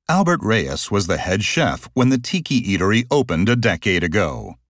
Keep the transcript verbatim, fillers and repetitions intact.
Albert Reyes was the head chef when the Tiki Eatery opened a decade ago.